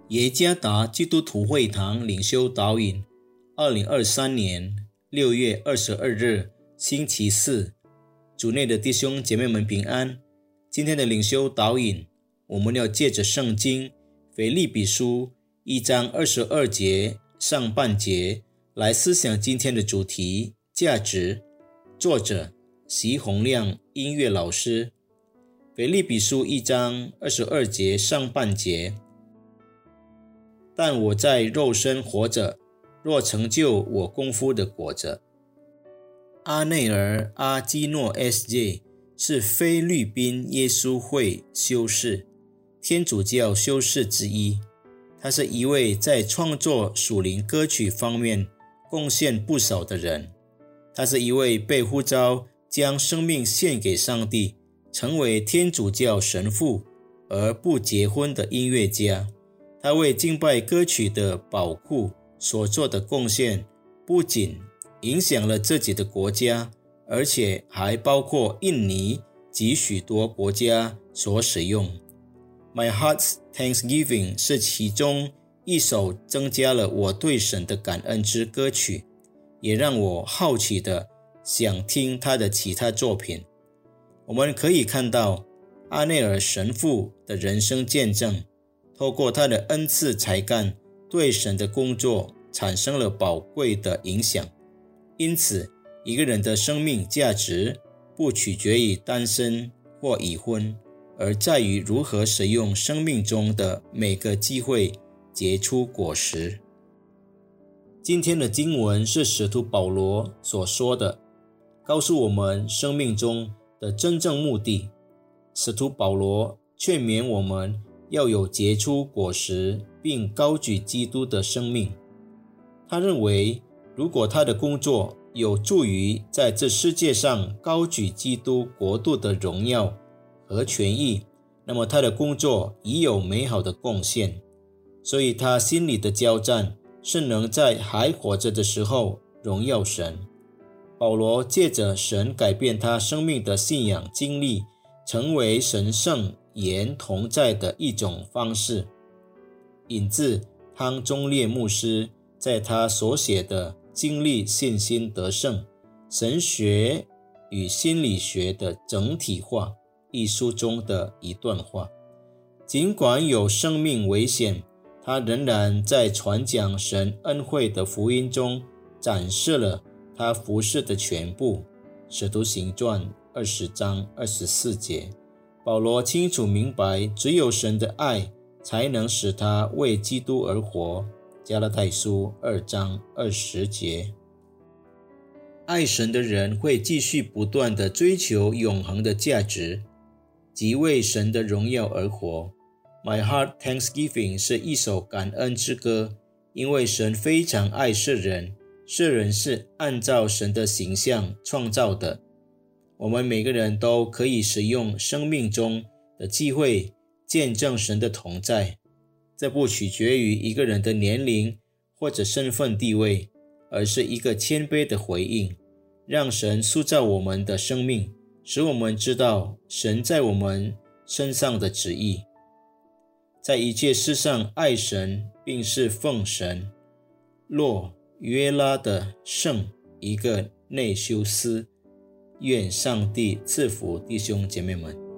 耶加达基督徒会堂领袖导引2023年6月22日星期四，主内的弟兄姐妹们平安。今天的领袖导引，我们要借着圣经腓立比书1章22节上半节来思想今天的主题价值。作者席洪亮音乐老师。腓立比书1章22节上半节，但我在肉身活着，若成就我功夫的果子。阿内尔·阿基诺 S.J. 是菲律宾耶稣会修士，天主教修士之一。他是一位在创作属灵歌曲方面贡献不少的人。他是一位被呼召将生命献给上帝，成为天主教神父而不结婚的音乐家。他为敬拜歌曲的宝库所做的贡献，不仅影响了自己的国家，而且还包括印尼及许多国家所使用。My Heart's Thanksgiving 是其中一首增加了我对神的感恩之歌曲，也让我好奇的想听他的其他作品。我们可以看到阿内尔神父的人生见证，透过他的恩赐才干，对神的工作产生了宝贵的影响。因此，一个人的生命价值不取决于单身或已婚，而在于如何使用生命中的每个机会结出果实。今天的经文是使徒保罗所说的，告诉我们生命中的真正目的。使徒保罗劝勉我们要有结出果实并高举基督的生命。他认为，如果他的工作有助于在这世界上高举基督国度的荣耀和权益，那么他的工作已有美好的贡献。所以他心里的交战是能在还活着的时候荣耀神。保罗借着神改变他生命的信仰经历，成为神圣言同在的一种方式。引自汤中烈牧师在他所写的《经历信心得胜：神学与心理学的整体化》一书中的一段话。尽管有生命危险，他仍然在传讲神恩惠的福音中展示了他服事的全部。使徒行传20章24节，保罗清楚明白，只有神的爱才能使他为基督而活。加拉太书2章20节，爱神的人会继续不断地追求永恒的价值，即为神的荣耀而活。My Heart Thanksgiving 是一首感恩之歌，因为神非常爱世人，世人是按照神的形象创造的。我们每个人都可以使用生命中的机会见证神的同在。这不取决于一个人的年龄或者身份地位，而是一个谦卑的回应，让神塑造我们的生命，使我们知道神在我们身上的旨意。在一切事上爱神，并是奉神洛约拉的圣一个内修斯。愿上帝赐福弟兄姐妹们。